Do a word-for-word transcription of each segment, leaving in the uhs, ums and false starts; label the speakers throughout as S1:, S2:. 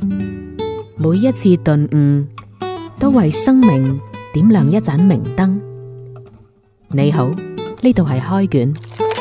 S1: 每一次頓悟，都為生命點亮一盞明燈。你好，呢度係開卷。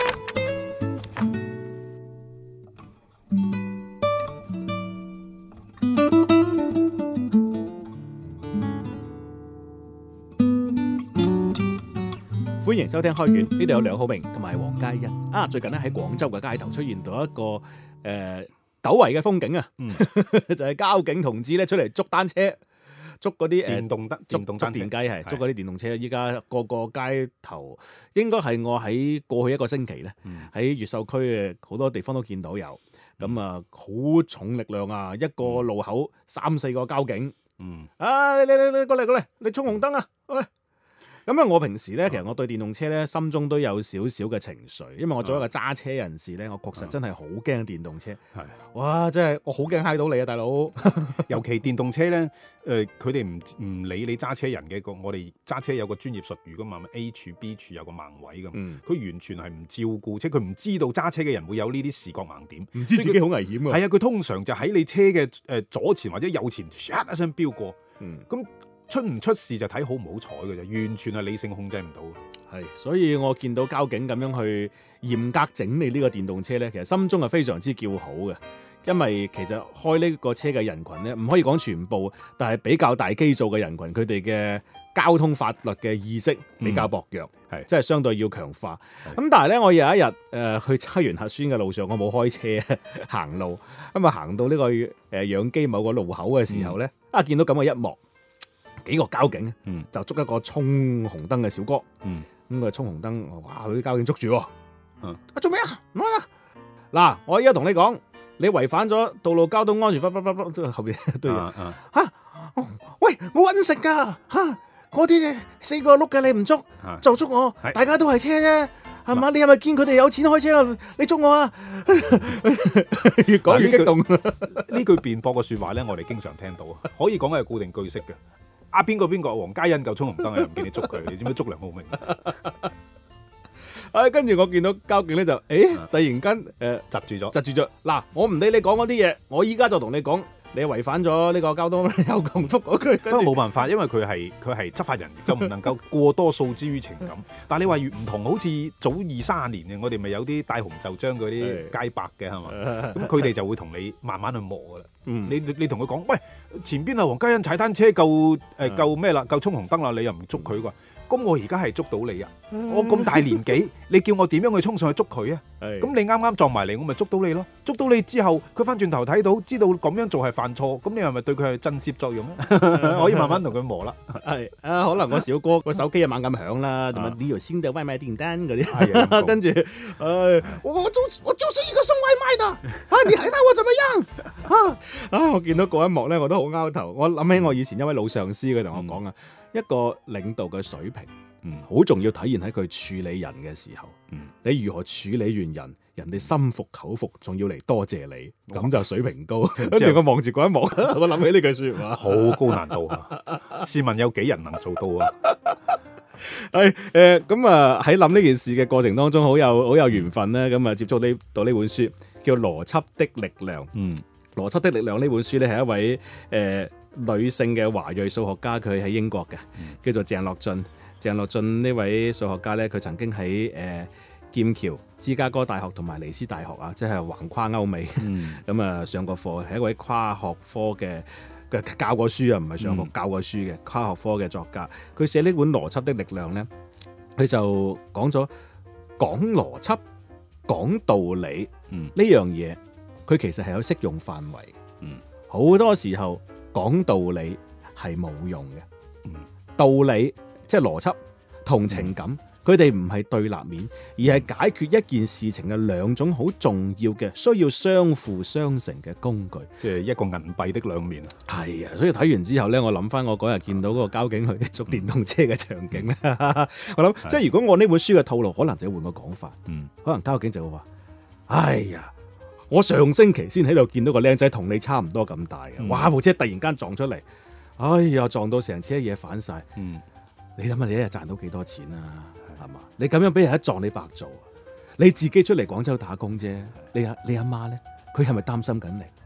S2: 歡迎收聽開卷，呢度有梁浩明同埋黃嘉欣啊！最近咧喺廣州嘅街頭出現到一個誒、呃、久違嘅風景啊，嗯、就係交警同志咧出嚟捉單車，捉嗰啲
S3: 電動得電動單車
S2: 電雞係捉嗰啲電動車。依家個個街頭應該係我喺過去一個星期咧，喺、嗯、越秀區嘅好多地方都見到有咁啊，好重力量啊！一個路口三四個交警，嗯啊，你你你你過嚟過嚟，你衝紅燈啊！喂！咁啊！我平時咧，其實我對電動車咧心中都有少少嘅情緒，因為我作為一個揸車人士咧，我確實真係好驚電動車。係，哇！真係我好驚揩到你啊，大佬！
S3: 尤其電動車咧，誒、呃，佢哋唔唔理你揸車人嘅個，我哋揸車有個專業術語噶嘛 ，A 柱 B 柱有個盲位噶嘛，佢、嗯、完全係唔照顧，即係佢唔知道揸車嘅人會有呢啲視覺盲點，
S2: 唔知自己好危險㗎。
S3: 係啊，佢通常就喺你車嘅誒左前或者右前，唰一聲飆過，嗯，咁。出唔出事就睇好唔好彩嘅啫，完全係理性控制唔到。
S2: 係，所以我見到交警咁樣去嚴格整理呢個電動車咧，其實心中係非常之叫好嘅，因為其實開呢個車嘅人群咧，唔可以講全部，但係比較大基數嘅人群，佢哋嘅交通法律嘅意識比較薄弱，係、嗯，即係相對要強化。咁但係咧，我有一日誒、呃、去測完核酸嘅路上，我冇開車行路，咁啊行到呢個誒養雞某個路口嘅時候咧，嗯、啊見到咁嘅一幕。幾個交警、嗯、就捉一個衝紅燈嘅小哥，咁佢衝紅燈，哇！佢啲交警捉住，啊做咩啊？唔好啦！嗱，我依家同你講，你違反咗道路交通安全法，即係後邊都有吓。喂，冇搵食噶吓，嗰啲四個轆嘅你唔捉，就捉我，大家都係車啫，係嘛？你係咪見佢哋有錢開車啊？你捉我啊！越講越激動。呢
S3: 句辯駁嘅說話咧，我哋經常聽到，可以講係固定句式嘅。啊邊個邊個黃嘉欣夠衝紅燈啊，又唔見你捉佢，你知唔知捉梁浩明？
S2: 啊，跟住我見到交警咧就，誒、欸，突然間誒
S3: 窒住咗，
S2: 窒住咗。嗱，我唔理你講嗰啲嘢，我依家就同你講，你違反咗呢個交通有共福嗰句。
S3: 不過冇辦法，因為佢係佢係執法人，就唔能夠過多訴之於情感。但係你話越唔同，好似早二三十年嘅，我哋咪有啲戴紅袖章嗰啲街白嘅係嘛？咁佢哋就會同你慢慢去磨噶啦。嗯、你你同佢講，喂，前邊啊黃嘉欣踩單車夠誒夠咩啦？夠衝紅燈啦，你又唔捉佢啩？咁我而家係捉到你啊！嗯、我咁大年紀，你叫我點樣去衝上去捉佢啊？咁你啱啱撞埋嚟，我咪捉到你咯！捉到你之後，佢翻轉頭睇到，知道咁樣做係犯錯，咁你係咪對佢係震懾作用咧？可以慢慢同佢磨啦。
S2: 係啊，可能我小哥個手機啊猛咁響啦，同埋呢條先到外賣訂單嗰啲，跟住，誒，我我就我就是一個送外賣的，啊，你還拿我怎麼樣？啊啊！我見到嗰一幕咧，我都好拗頭。我諗起我以前一位老上司佢同我講啊。嗯一個領導嘅水平，嗯，好重要體現喺佢處理人嘅時候，嗯，你如何處理完人，人哋心服口服，仲要嚟多謝你，咁就水平高。跟住我望住嗰一幕，我諗起呢句說話，
S3: 好高難度啊！試問有幾人能做到啊？
S2: 係誒，咁啊喺諗呢件事嘅過程當中，好有好有緣分咧，咁啊接觸呢到呢本書，叫《邏輯的力量》。嗯，《邏輯的力量》呢本書咧係一位誒。呃女性嘅華裔數學家，佢喺英國嘅，叫做鄭樂進。鄭樂進呢位數學家咧，佢曾經喺誒、呃、劍橋、芝加哥大學同埋尼斯大學啊，即係橫跨歐美，咁啊、嗯、上過課，係一位跨學科嘅嘅教過書啊，唔係上課、嗯、教過書嘅跨學科嘅作家。佢寫呢本《邏輯的力量》咧，佢就講咗講邏輯、講道理呢樣嘢，佢、嗯、其實係有適用範圍。嗯，好多時候。講道理係冇用嘅，嗯、道理即係邏輯同情感，佢哋唔係對立面，而係解決一件事情嘅兩種好重要嘅需要相輔相成嘅工具，
S3: 即係一個銀幣的兩面。
S2: 係啊，所以睇完之後咧，我諗翻我嗰日見到嗰個交警去捉電動車嘅場景咧，嗯、我諗即係如果我呢本書嘅套路，可能就換個講法，嗯、可能交警就會話：哎呀！我上星期先喺度見到個靚仔同你差唔多咁大嘅，嗯、哇！部車突然間撞出嚟，哎呀，撞到成車嘢反晒。嗯，你諗下你一日賺到幾多錢啊？係嘛？你咁樣俾人一撞，你白做。你自己出嚟廣州打工啫，你阿你阿媽咧，佢係咪擔心緊你？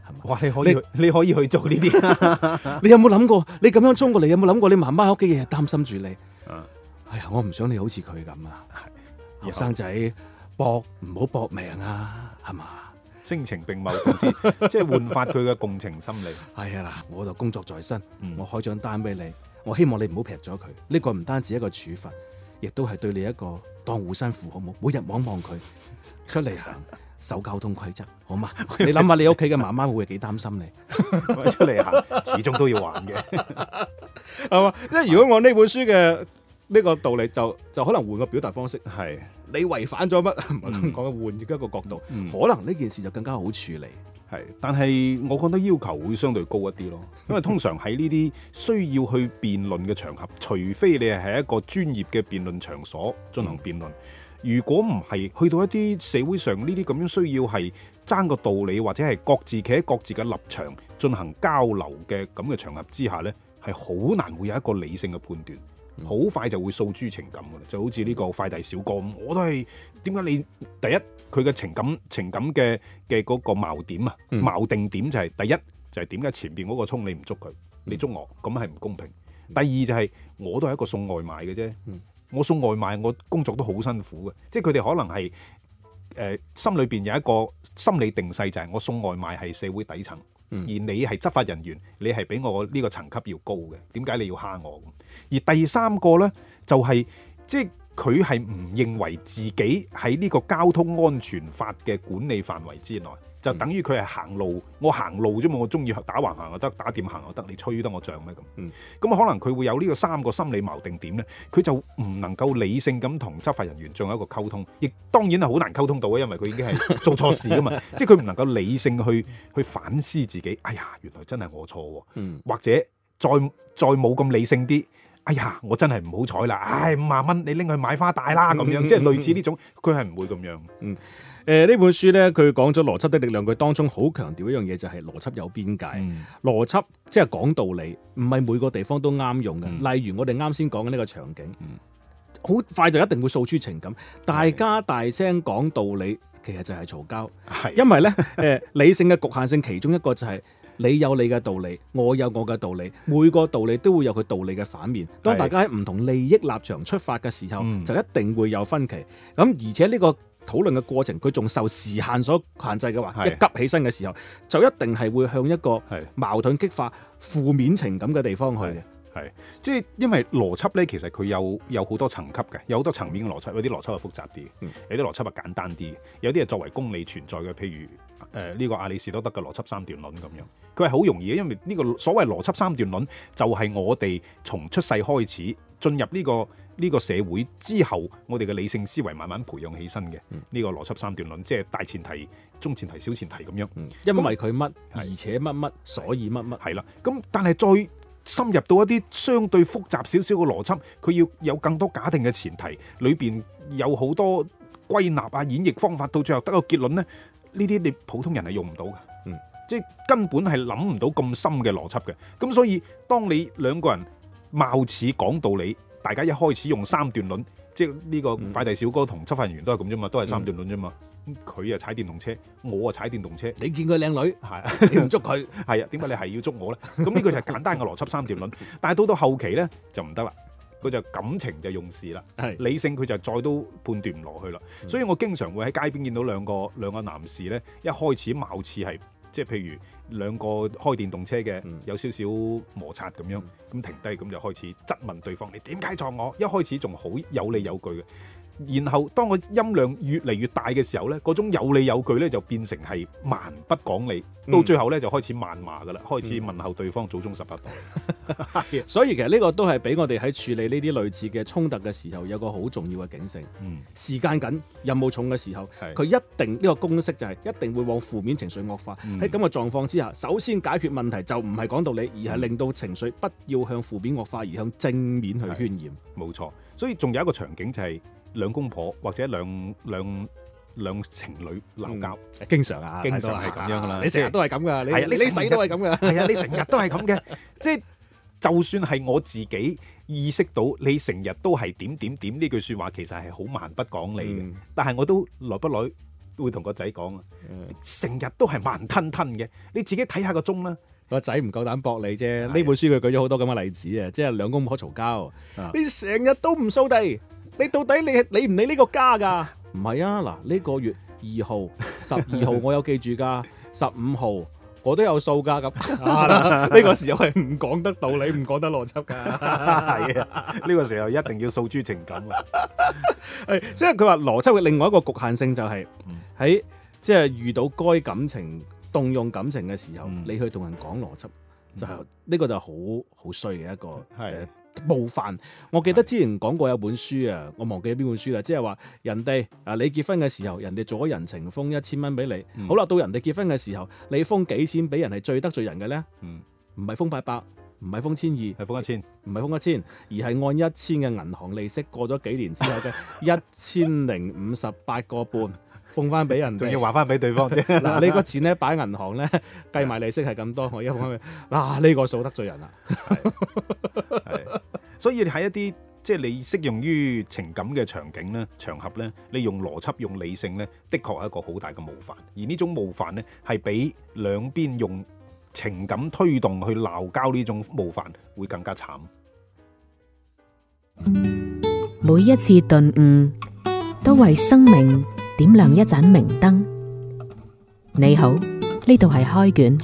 S2: 係嘛？
S3: 哇！你可以去你，你可以去做呢啲。
S2: 你有冇諗過？你咁樣衝過嚟，有冇諗過你媽媽喺屋企日日擔心住你？
S3: 啊、
S2: 哎呀，我唔想你好似佢咁啊！後生仔搏唔好搏命啊，係嘛？
S3: 聲情並茂導致，即係煥發佢嘅共情心理。
S2: 係啊嗱，我就工作在身，
S3: 嗯、
S2: 我開張單俾你，我希望你唔好劈咗佢。呢、呢個唔單止一個處罰，亦都係對你一個當護身符，好冇？每日望望佢出嚟行，守交通規則，好嘛？你諗下你屋企嘅媽媽會幾擔心你？
S3: 出嚟行，始終都要還嘅，
S2: 係嘛？因為如果按呢本書嘅呢個道理，就就可能換個表達方式，係你違反咗乜？唔係咁講，換一個角度，
S3: 嗯、
S2: 可能呢件事就更加好處理。
S3: 係，但係我覺得要求會相對高一啲咯，因為通常喺呢啲需要去辯論嘅場合，除非你係喺一個專業嘅辯論場所進行辯論，嗯、如果唔係去到一啲社會上呢啲咁樣需要係爭個道理，或者係各自企喺各自嘅立場進行交流嘅咁嘅場合之下呢，係好難會有一個理性嘅判斷。好快就會訴諸情感㗎啦，就好似呢個快遞小哥咁，我都係點解你第一佢嘅情感情感嘅嘅嗰個矛點啊，嗯、矛定點就係、是、第一就係點解前邊嗰個衝你唔捉佢，你捉我咁係唔公平。嗯、第二就係、是、我都係一個送外賣嘅啫，嗯、我送外賣我工作都好辛苦嘅，即係佢哋可能係誒、呃、心裏邊有一個心理定勢，就係我送外賣係社會底層。而你係執法人員，你係比我呢個層級要高嘅，點解你要蝦我？而第三個呢，就係、是、即係佢係唔認為自己喺呢個交通安全法嘅管理範圍之內，就等於佢係行路，我行路啫嘛，我中意打橫行又得，打點行又得，你吹得我脹咩咁？咁、嗯、可能佢會有呢個三個心理錨定點呢，佢就唔能夠理性咁同執法人員進行一個溝通，亦當然係好難溝通到嘅，因為佢已經係做錯事㗎嘛，即係佢唔能夠理性去去反思自己，哎呀，原來真係我錯喎，嗯、或者再再冇咁理性啲。哎呀，我真係唔好彩啦！唉，五萬蚊你拎去買花帶啦咁樣，嗯、即係類似呢種，佢係唔會咁樣。嗯，誒、
S2: 呃、呢本書咧，佢講咗邏輯的力量，佢當中好強調一樣嘢就係邏輯有邊界。嗯、邏輯即係講道理，唔係每個地方都啱用嘅。嗯、例如我哋啱先講嘅呢個場景，好、嗯、快就一定會訴諸情感，大家大聲講道理，其實就係嘈交。係的，因為咧誒、呃、理性嘅局限性，其中一個就係、是。你有你嘅道理，我有我嘅道理，每個道理都會有佢道理嘅反面。當大家喺唔同利益立場出發嘅時候，嗯、就一定會有分歧。咁而且呢個討論嘅過程，佢仲受時限所限制嘅話，是一急起身嘅時候，就一定係會向一個矛盾激化負面情感嘅地方去嘅。
S3: 係，即係因為邏輯咧，其實佢有有好多層級嘅，有好多層面嘅邏輯，有啲邏輯係複雜啲，嗯、有啲邏輯係簡單啲，有啲係作為公理存在嘅，譬如誒呢、呃這個亞里士多德嘅邏輯三段論咁樣，佢係好容易嘅，因為呢個所謂邏輯三段論就係我哋從出世開始進入呢、這個呢、這個社會之後，我哋嘅理性思維慢慢培養起身嘅呢、嗯、個邏輯三段論，即係大前提、中前提、小前提咁樣，嗯、因為佢乜，而且乜乜，所以乜乜，係啦，咁但係再深入到一啲相對複雜少少嘅邏輯，佢要有更多假定嘅前提，裏邊有好多歸納啊、演繹方法，到最後得個結論呢，呢啲你普通人係用唔到嘅，嗯，即係根本係諗唔到咁深嘅邏輯嘅。咁所以當你兩個人貌似講道理，大家一開始用三段論，即係呢個快遞小哥同執法人員都係咁啫嘛，都係三段論啫嘛。佢啊踩電動車，我啊踩電動車。你見佢靚女，係你唔捉佢，係啊？點解你係要捉我咧？咁呢個就係簡單嘅邏輯三段論。但係到到後期咧就唔得啦，佢就感情就用事啦，係理性佢就再都判斷唔落去啦。嗯、所以我經常會喺街邊見到兩個兩個男士咧，一開始貌似係即係譬如兩個開電動車嘅，嗯、有少少摩擦咁樣，咁、嗯、停低咁就開始質問對方：你點解撞我？一開始仲好有理有據嘅。然後當個音量越嚟越大嘅時候咧，嗰種有理有據咧就變成係蠻不講理，嗯、到最後咧就開始謾罵噶啦，開始問候對方祖宗十八代。嗯、
S2: 所以其實呢個都係俾我哋喺處理呢啲類似嘅衝突嘅時候有個好重要嘅警醒。嗯、時間緊、任務重嘅時候，佢是一定呢、呢個公式就係一定會往負面情緒惡化。喺咁嘅狀況之下，首先解決問題就唔係講道理，而係令到情緒不要向負面惡化，而向正面去渲染。
S3: 冇錯，所以仲有一個場景就係、是。兩公婆或者兩兩兩情侶鬧交，
S2: 嗯、經常啊，
S3: 經常係咁樣噶啦。
S2: 你成日都係咁噶，
S3: 係啊，你
S2: 你死都係咁噶，
S3: 係啊，你成日都係咁嘅。即係就算係我自己意識到你成日都係點點點呢句説話，其實係好蠻不講理嘅。嗯、但係我都耐不耐會同個仔講啊，成日都係慢吞吞嘅，你自己睇下個鐘啦。
S2: 個仔唔夠膽駁你啫。呢本書佢舉咗好多咁嘅例子啊，即係兩公婆嘈交，你成日都唔掃地，你到底你係理唔理呢個家㗎？唔係啊，嗱呢個月二號、十二號我有記住㗎，十五號我都有數㗎咁。呢個時候係唔講得道理，唔講得邏輯㗎。
S3: 係啊，呢個時候一定要訴諸情感啊。
S2: 係，即係佢話邏輯嘅另外一個局限性就係喺即係遇到該感情動用感情嘅時候，嗯、你去同人講邏輯，嗯、就係、是、呢個就好好衰嘅一個係冒犯。我記得之前講過有本書啊，我忘記咗邊本書啦，即係話人哋啊，你結婚嘅時候，人哋做咗人情封一千蚊俾你，嗯、好啦，到人哋結婚嘅時候，你封幾錢俾人係最得罪人嘅咧？唔係、嗯、封八百，唔係封千二，係封一千，唔係封一千，而係按一千嘅銀行利息，過咗幾年之後嘅一千零五十八個半。封翻俾人，仲要還翻俾對方啫。嗱，呢個錢咧擺銀行咧，計埋利息係咁多，我而家封翻俾，嗱呢個數得罪人啦。
S3: 係，所以喺一啲即係你適用於情感嘅場景咧、場合咧，你用邏輯、用理性咧，的確係一個好大嘅冒犯。而呢種冒犯咧，係比兩邊用情感推動去鬧交呢種冒犯會更加慘。
S1: 每一次頓悟，都為生命點亮一盞明燈。你好，呢度係開卷。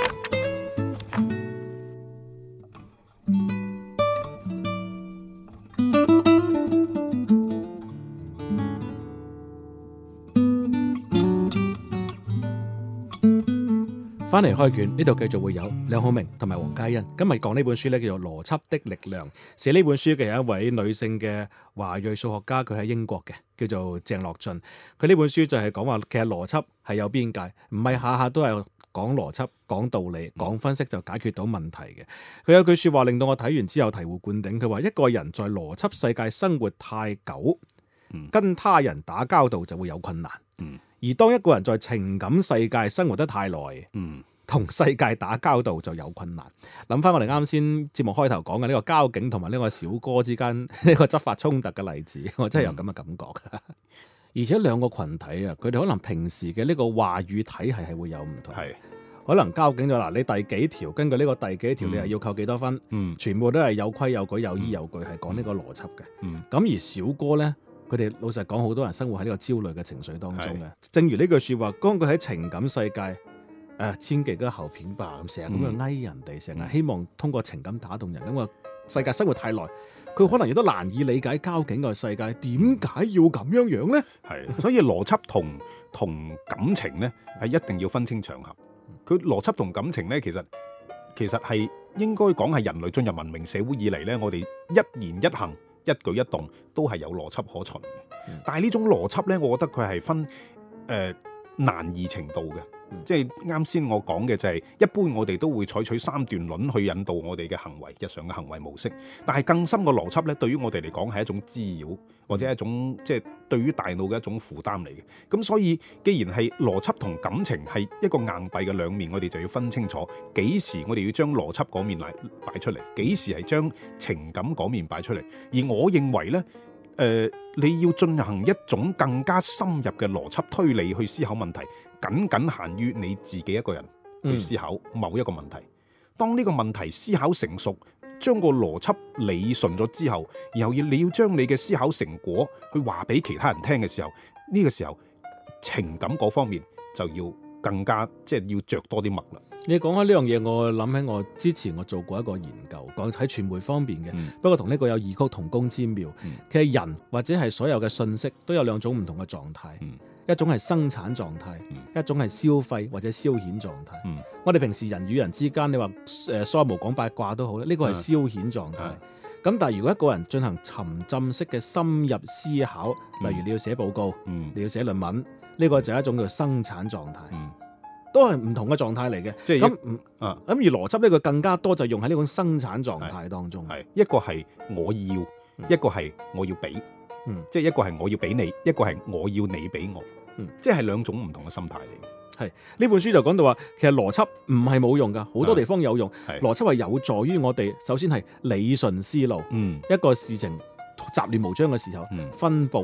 S2: 翻嚟開卷，呢度繼續會有梁浩明同埋黃嘉欣。今日講呢本書咧，叫做《邏輯的力量》。寫呢本書嘅有一位女性嘅華裔數學家，佢喺英國嘅，叫做鄭樂進。佢呢本書就係講話，其實邏輯係有邊界，唔係下下都係講邏輯、講道理、講分析就解決到問題嘅。佢有句說話令到我睇完之後醍醐灌頂。佢話一個人在邏輯世界生活太久，嗯、跟他人打交道就會有困難。嗯而當一個人在情感世界生活得太耐，嗯，同世界打交道就有困難。諗翻我哋啱先節目開頭講嘅呢個交警同埋呢個小哥之間呢個執法衝突嘅例子，我真係有咁嘅感覺。嗯、而且兩個群體啊，佢哋可能平時嘅呢個話語體系係會有唔同。係，可能交警就嗱，你第幾條根據呢個第幾條，你係要扣幾多分？嗯，全部都係有規有矩、有依有據，係講呢個邏輯嘅。嗯，咁而小哥咧。佢哋老實講，好多人生活喺呢個焦慮嘅情緒當中嘅。正如呢句説話，當佢喺情感世界，誒、呃、千祈都後片吧，成日咁樣翳人哋，成日、嗯、希望通過情感打動人。咁個世界生活太耐，佢可能亦都難以理解交警個世界點解要咁樣樣咧。係，所以邏輯同同感情咧係一定要分清場合。佢邏輯同感情咧，其實其實係應該講係人類進入文明社會以嚟咧，我哋一言一行，一舉一動都係有邏輯可循嘅，嗯、但係呢種邏輯呢，我覺得佢係分誒、呃、難易程度嘅，嗯、即係啱先我講嘅就係、是、一般我哋都會採取三段論去引導我哋嘅行為，日常嘅行為模式。但係更深嘅邏輯呢，對於我哋嚟講係一種滋擾，或者係一種即係對於大腦嘅一種負擔嚟嘅。咁所以既然係邏輯同感情係一個硬幣嘅兩面，我哋就要分清楚幾時我哋要將邏輯嗰面嚟擺出嚟，幾時係將情感嗰面擺出嚟。而我認為呢，誒、呃、你要進行一種更加深入嘅邏輯推理去思考問題，僅僅限於你自己一個人去思考某一個問題。嗯、當呢個問題思考成熟，將個邏輯理順咗之後，然後要你要將你嘅思考成果去話俾其他人聽嘅時候，呢、這個時候情感嗰方面就要更加即係、就是、要着多啲墨啦。你講開呢樣嘢，我諗起我之前我做過一個研究，講喺傳媒方面嘅，嗯、不過同呢個有異曲同工之妙。嗯、其實人或者係所有嘅信息都有兩種唔同嘅狀態。嗯一種係生產狀態，嗯、一種係消費或者消遣狀態。嗯、我哋平時人與人之間，你話誒梳毛講八卦都好咧，呢、這個係消遣狀態。咁、嗯、但係如果一個人進行沉浸式嘅深入思考，嗯、例如你要寫報告，嗯、你要寫論文，呢、這個就係一種叫生產狀態，嗯、都係唔同嘅狀態嚟嘅。即係咁，咁、啊、而邏輯呢個更加多就用喺呢種生產狀態當中。係一個係我要，嗯、一個係我要俾，嗯、即係一個係我要俾你，一個係我要你俾我。嗯，即係兩種唔同嘅心態嚟嘅。係呢本書就講到話，其實邏輯唔係冇用噶，好多地方有用。係邏輯係有助於我哋，首先係理順思路。嗯，一個事情雜亂無章嘅時候，嗯、分步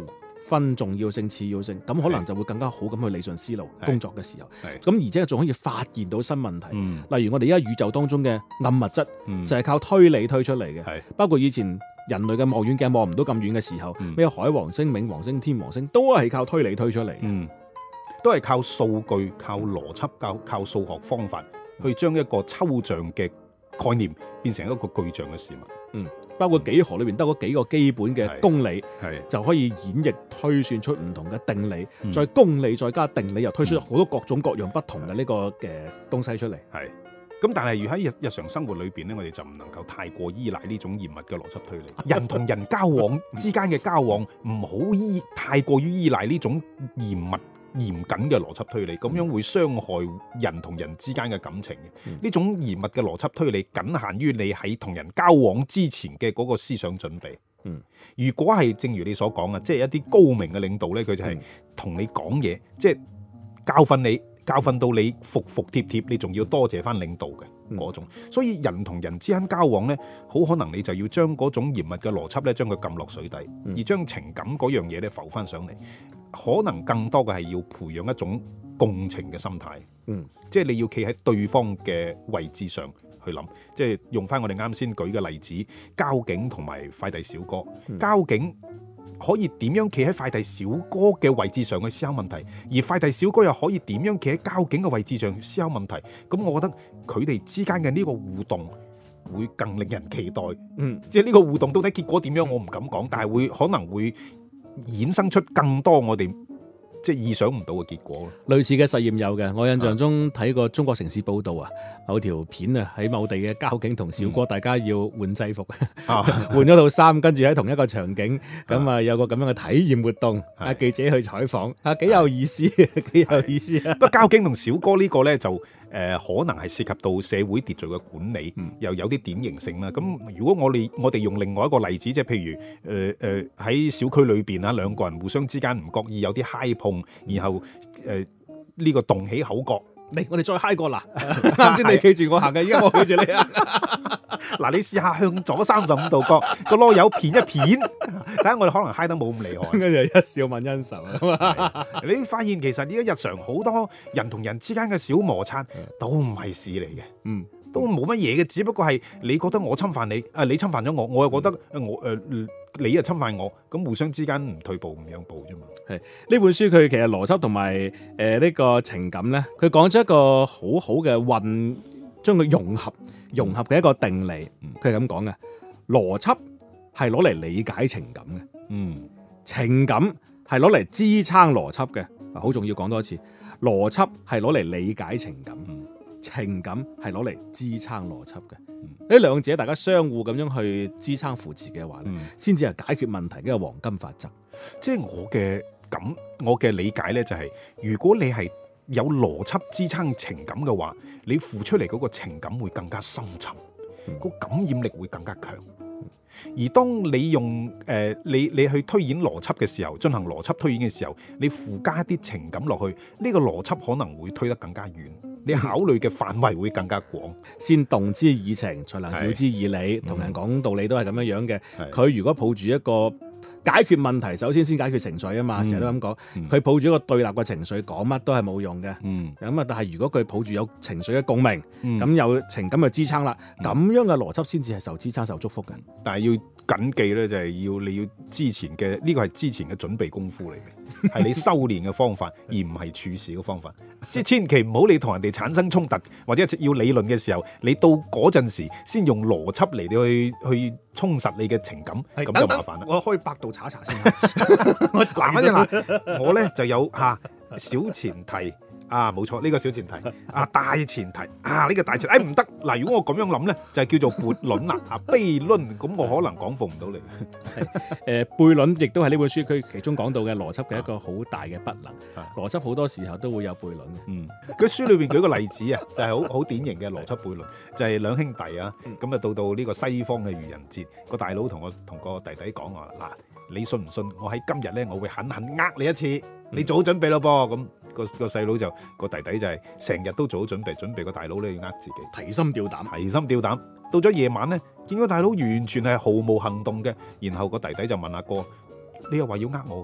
S2: 分重要性、次要性，咁可能就會更加好咁去理順思路。工作嘅時候，
S3: 係
S2: 咁而且仲可以發現到新問題。
S3: 嗯
S2: 例如我哋而家宇宙當中嘅暗物質，
S3: 嗯
S2: 就係靠推理推出嚟嘅。
S3: 係
S2: 包括以前人類嘅望遠鏡望唔到咁遠嘅時候，
S3: 嗯
S2: 咩海王星、冥王星、天王星都係靠推理推出嚟嘅。
S3: 嗯，都係靠數據、靠邏輯、靠靠數學方法去將一個抽象嘅概念變成一個具象嘅事物。
S2: 嗯，包括幾何裏邊得嗰幾個基本嘅公理，
S3: 係
S2: 就可以演繹推算出唔同嘅定理，
S3: 嗯
S2: 再公理再加定理，又推出好多各種各樣不同嘅呢個嘅東西出嚟。
S3: 係。咁但係如喺日日常生活裏邊咧，我哋就唔能夠太過依賴呢種嚴密嘅邏輯推理。人同人交往之間嘅交往，唔好依太過於依賴呢種嚴密嚴謹嘅邏輯推理，咁樣會傷害人同人之間嘅感情嘅。呢、
S2: 嗯、
S3: 種嚴密嘅邏輯推理，僅限於你喺同人交往之前嘅嗰個思想準備。
S2: 嗯，
S3: 如果係正如你所講啊，即係一啲高明嘅領導咧，佢就係同你講嘢，即係教訓你。教訓到你服服帖帖，你仲要多謝翻領導嘅嗰種，嗯、所以人同人之間交往呢，好可能你就要將嗰種嚴密嘅邏輯咧，將佢撳落水底，嗯、而將情感嗰樣嘢咧浮翻上嚟，可能更多嘅係要培養一種共情嘅心態，
S2: 嗯，
S3: 即係你要企喺對方嘅位置上去諗，即係用翻我哋啱先舉嘅例子，交警同埋快遞小哥，嗯、交警。可以點樣企喺快遞小哥嘅位置上去思考問題，而快遞小哥又可以點樣企喺交警嘅位置上思考問題？咁我覺得佢哋之間嘅呢個互動會更令人期待。嗯，即係呢個互動到底結果點樣，我唔敢講，但係會可能會衍生出更多我哋即係意想唔到嘅結果。
S2: 類似嘅實驗有嘅，我印象中睇過中國城市報道啊，某條片啊喺某地嘅交警同小哥，大家要換制服，嗯、換咗套衫，跟住喺同一個場景，咁啊有個咁樣嘅體驗活動，啊記者去採訪，啊幾有意思，幾有意思啊！
S3: 不過交警同小哥呢個咧就誒、呃、可能係涉及到社會秩序嘅管理，嗯、又有啲典型性啦。咁如果我哋我哋用另外一個例子，即係譬如誒誒喺小區裏邊啊，兩個人互相之間唔覺意有啲嗨碰。然後誒呢、呃這個動起口角，
S2: 嚟我哋再嗨過啦！啱先你企住我行嘅，而家我企住你行。
S3: 嗱，你試下向左三十五度角個囉柚片一片，睇下我哋可能嗨得冇咁厲害。
S2: 跟住一笑泯恩仇啊！
S3: 你發現其實而家日常好多人同人之間嘅小摩擦都唔係事嚟嘅，嗯，都冇乜嘢嘅，只不過係你覺得我侵犯你，啊你侵犯咗我，我又覺得我誒。呃你又侵犯我，咁互相之間唔退步唔讓步啫嘛。
S2: 係呢本書佢其實邏輯同埋誒呢個情感咧，佢講咗一個好好嘅混，將佢融合融合嘅一個定理。佢係咁講嘅，邏輯係攞嚟理解情感嘅，嗯，情感係攞嚟支撐邏輯嘅。好重要，講多一次，邏輯係攞嚟理解情感，嗯、情感係攞嚟支撐邏輯嘅。呢兩者大家相互咁樣去支撐扶持嘅話咧，先至係解決問題嘅黃金法則。
S3: 即係我嘅感，我嘅理解咧就係、是，如果你係有邏輯支撐情感嘅話，你付出嚟嗰個情感會更加深沉，個、嗯、感染力會更加強。而當你用誒、呃、你你去推演邏輯嘅時候，進行邏輯推演嘅時候，你附加一啲情感落去，呢、這個邏輯可能會推得更加遠，你考慮嘅範圍會更加廣。
S2: 先動之以情，才能曉之以理。同人講道理都係咁樣樣嘅。佢如果抱住一個解決問題，首先先解決情緒啊嘛，成日都咁講。佢抱住一個對立嘅情緒，講乜都係冇用嘅。咁啊、嗯，但係如果佢抱住有情緒嘅共鳴，咁、嗯、有情感嘅支撐啦，咁、嗯、樣嘅邏輯先至係受支撐、受祝福嘅。
S3: 但係要謹記咧，就係要你要之前嘅呢個係之前嘅準備功夫嚟嘅，係你修煉嘅方法，而唔係處事嘅方法。即千祈唔好你同人哋產生衝突，或者要理論嘅時候，你到嗰陣時先用邏輯嚟去去充實你嘅情感，咁就麻煩啦。
S2: 我開百度查一查先。
S3: 我嗱乜嘢嗱？我咧就有嚇小前提。啊，冇錯，呢、這個小前提啊，大前提啊，呢、這個大前提，誒唔得嗱，如果我咁樣諗咧，就係、是、叫做悖論啦，啊悖論，咁我可能講服唔到你。
S2: 誒悖論亦都係呢本書佢其中講到嘅邏輯嘅一個好大嘅不能。啊、邏輯好多時候都會有悖論嘅。嗯，佢書裏邊舉個例子啊，就係好好典型嘅邏輯悖論，就係、是、兩兄弟啊，咁啊到到呢個西方嘅愚人節，個大佬同我同個弟弟講話嗱，你信唔信我喺今日咧，我會狠狠呃你一次，你做好準備咯噃咁。個個細佬就個弟弟就係成日都做好準備，準備個大佬咧要呃自己， 提心吊膽，
S3: 提心吊膽。到咗夜晚咧，見個大佬完全係毫無行動嘅，然後個弟弟就問阿哥：你又話要呃我㗎？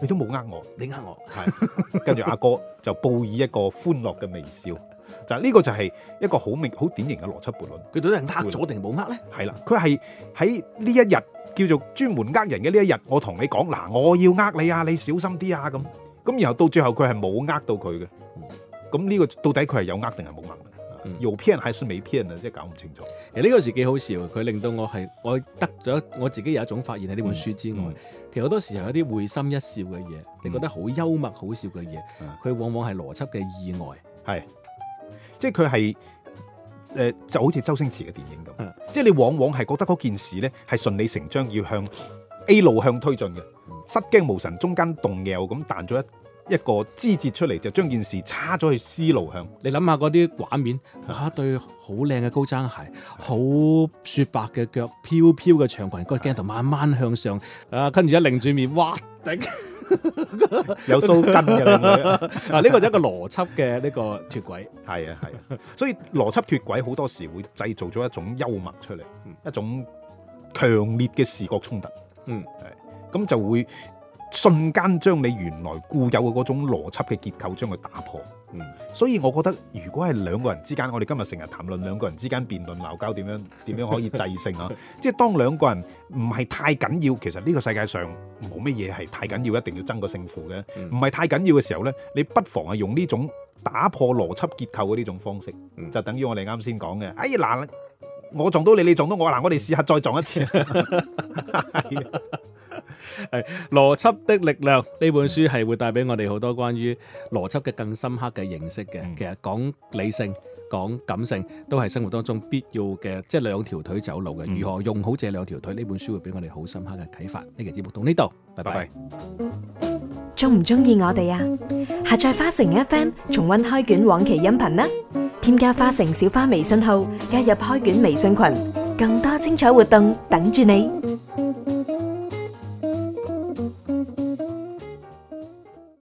S3: 你都冇呃我，
S2: 你呃我，
S3: 係跟住阿哥就報以一個歡樂嘅微笑，就呢、呢個就係一個好明好典型嘅邏輯悖論。
S2: 佢到底係呃咗定冇呃咧？
S3: 係啦，佢係喺呢一日叫做專門呃人嘅呢一日，我同你講嗱，我要呃你啊，你小心啲啊咁，咁然後到最後佢係冇呃到佢嘅，咁呢個到底佢係有呃定係冇呃？有騙還是沒騙啊？即係搞唔清楚。
S2: 其實呢個時幾好笑，佢令到我係我得咗我自己有一種發現喺呢本書之外，嗯嗯、其實好多時候有啲會心一笑嘅嘢，嗯、你覺得好幽默好笑嘅嘢，佢、嗯、往往係邏輯嘅意外，係
S3: 即係佢係誒就好似周星馳嘅電影咁，嗯、即係你往往係覺得嗰件事咧係順理成章要向 A 路向推進嘅，嗯、失驚無神中間動搖咁彈咗一一個枝節出嚟，就將件事叉咗去 C 路向。
S2: 你諗下嗰啲畫面，哇！對好靚嘅高踭鞋，好雪白嘅腳，飄飄嘅長裙，個鏡頭慢慢向上，啊，跟住一擰住面，哇！頂
S3: 有鬚根嘅啦。
S2: 啊，呢個就係一個邏輯嘅呢個脫軌。
S3: 係啊係啊，所以邏輯脫軌好多時會製造咗一種幽默出嚟，嗯、一種強烈嘅視覺衝突。嗯，係咁就會瞬間將你原來固有嘅嗰種邏輯嘅結構將佢打破，嗯，所以我覺得如果係兩個人之間，我哋今日成日談論兩個人之間辯論鬧交點樣點樣可以制勝啊，即係當兩個人唔係太緊要，其實呢個世界上冇乜嘢係太緊要，一定要爭個勝負嘅，唔係、嗯、太緊要嘅時候呢，你不妨係用呢種打破邏輯結構嘅呢種方式，嗯、就等於我哋啱先講嘅，哎嗱，我撞到你，你撞到我，嗱，我哋試下再撞一次。
S2: 係邏輯的力量呢本書係會帶俾我哋好多關於邏輯嘅更深刻嘅認識嘅。嗯、其實講理性、講感性都係生活當中必要嘅，即係兩條腿走路嘅。嗯、如何用好這兩條腿？呢本書會俾我哋好深刻嘅啟發。呢期節目到呢度，拜拜。
S4: 中唔中意我哋啊？下載花城 F M 重溫開卷往期音頻啦！添加花城小花微信號，加入開卷微信群，更多精彩活動等住你。